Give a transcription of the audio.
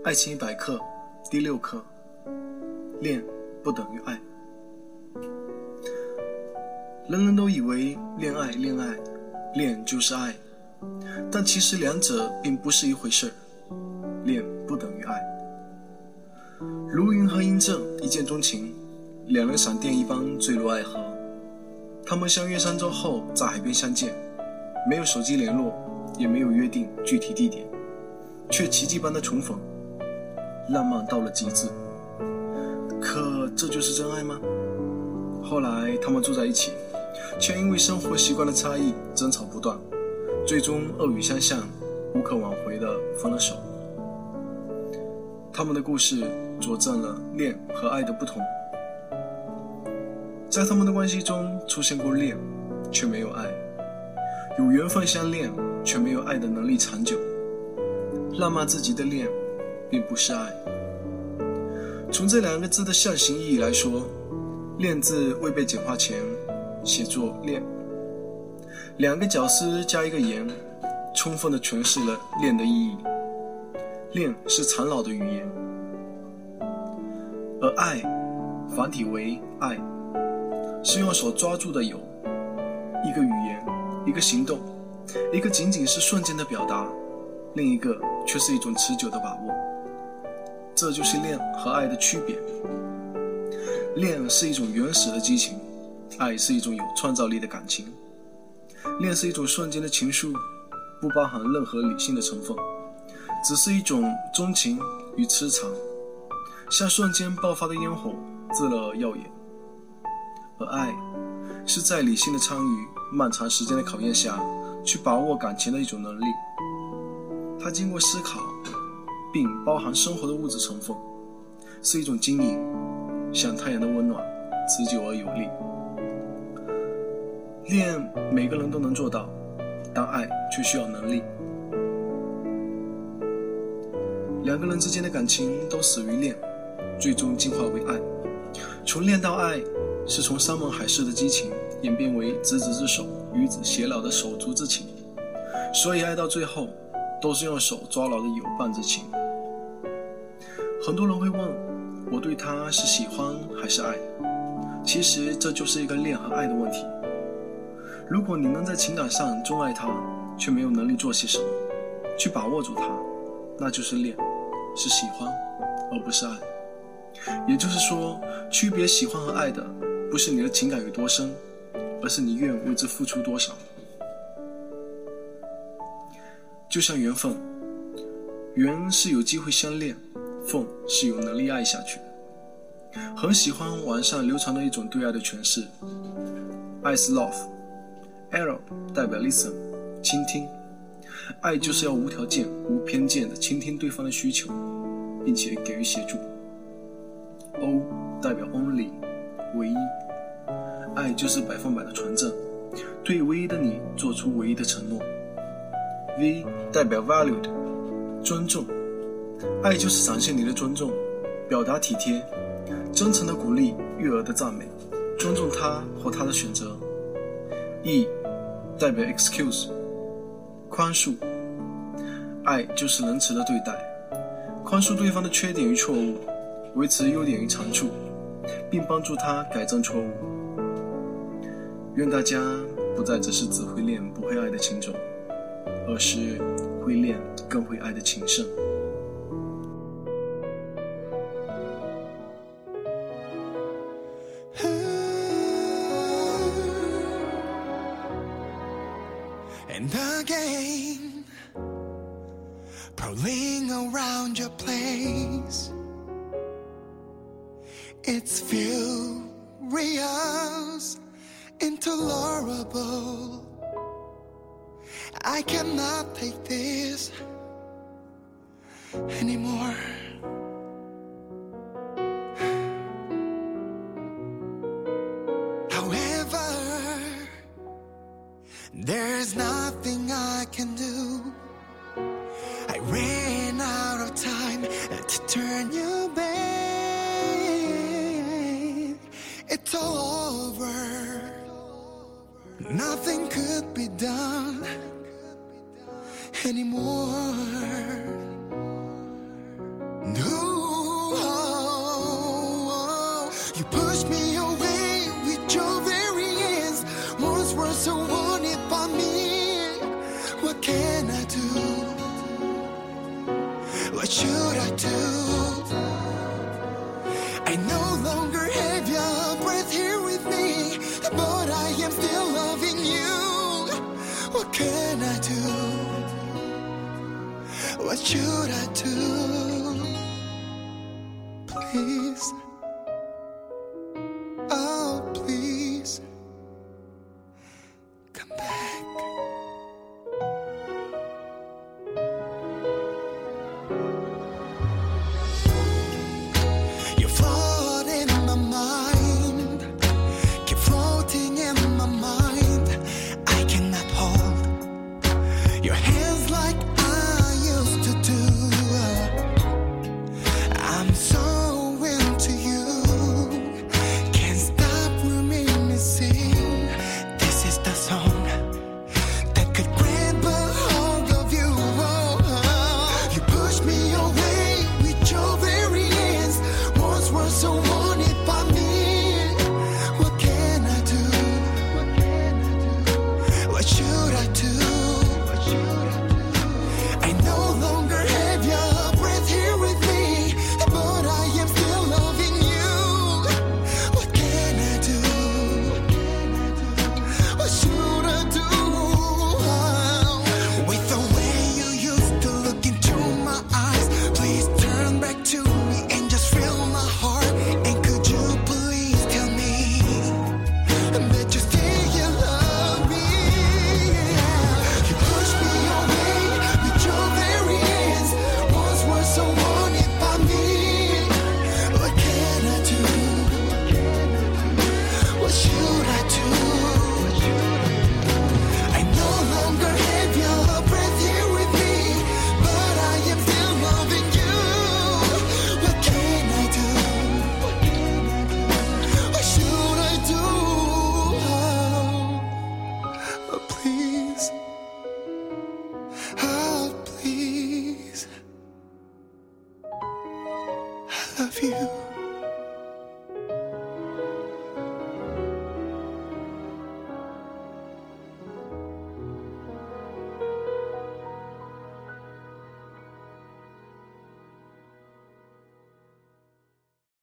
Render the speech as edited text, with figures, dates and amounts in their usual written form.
爱情100课第6课，恋不等于爱。人人都以为恋爱就是爱，但其实两者并不是一回事。恋不等于爱。如云和嬴政一见钟情，两人闪电一般坠入爱河。他们相约3周后在海边相见，没有手机联络，也没有约定具体地点，却奇迹般的重逢，浪漫到了极致。可这就是真爱吗？后来他们住在一起，却因为生活习惯的差异争吵不断，最终恶语相向，无可挽回的分了手。他们的故事佐证了恋和爱的不同。在他们的关系中出现过恋，却没有爱；有缘分相恋，却没有爱的能力长久。浪漫至极的恋并不是爱。从这2个字的象形意义来说，恋字未被简化前写作恋，2个绞丝加1个言，充分地诠释了恋的意义。恋是苍老的语言，而爱繁体为爱，是用手抓住的有，一个语言，一个行动，一个仅仅是瞬间的表达，另一个却是一种持久的把握。这就是恋和爱的区别。恋是一种原始的激情，爱是一种有创造力的感情。恋是一种瞬间的情愫，不包含任何理性的成分，只是一种钟情与痴缠，像瞬间爆发的烟火，炙热而耀眼。而爱是在理性的参与漫长时间的考验下去把握感情的一种能力，它经过思考并包含生活的物质成分，是一种经营，像太阳的温暖，持久而有力。恋每个人都能做到，但爱却需要能力。2个人之间的感情都始于恋，最终进化为爱。从恋到爱，是从山盟海誓的激情演变为执子之手，与子偕老的手足之情。所以爱到最后都是用手抓牢的友伴之情。很多人会问，我对他是喜欢还是爱？其实这就是一个恋和爱的问题。如果你能在情感上钟爱他，却没有能力做些什么去把握住他，那就是恋，是喜欢而不是爱。也就是说，区别喜欢和爱的不是你的情感有多深，而是你愿为之付出多少。就像缘分，缘是有机会相恋，份是有能力爱下去。很喜欢网上流传的一种对爱的诠释，爱是 love，L 代表 listen， 倾听。爱就是要无条件无偏见地倾听对方的需求，并且给予协助。O 代表 only， 唯一。爱就是100%的纯正，对唯一的你做出唯一的承诺。V 代表 valued， 尊重。爱就是展现你的尊重，表达体贴，真诚的鼓励，悦耳的赞美，尊重他或他的选择。E 代表 excuse， 宽恕。爱就是仁慈的对待，宽恕对方的缺点与错误，维持优点与长处，并帮助他改正错误。愿大家不再只是只会恋不会爱的情种，而是会恋更会爱的情圣。 And again, prowling around your place, it's furious, intolerable. I cannot take this anymore. However, there's nothing I can do. I ran out of time to turn you back. It's all over. Nothing could be done anymore. What should I do? I no longer have your breath here with me, but I am still loving you. What can I do? What should I do? Please, oh please, come back.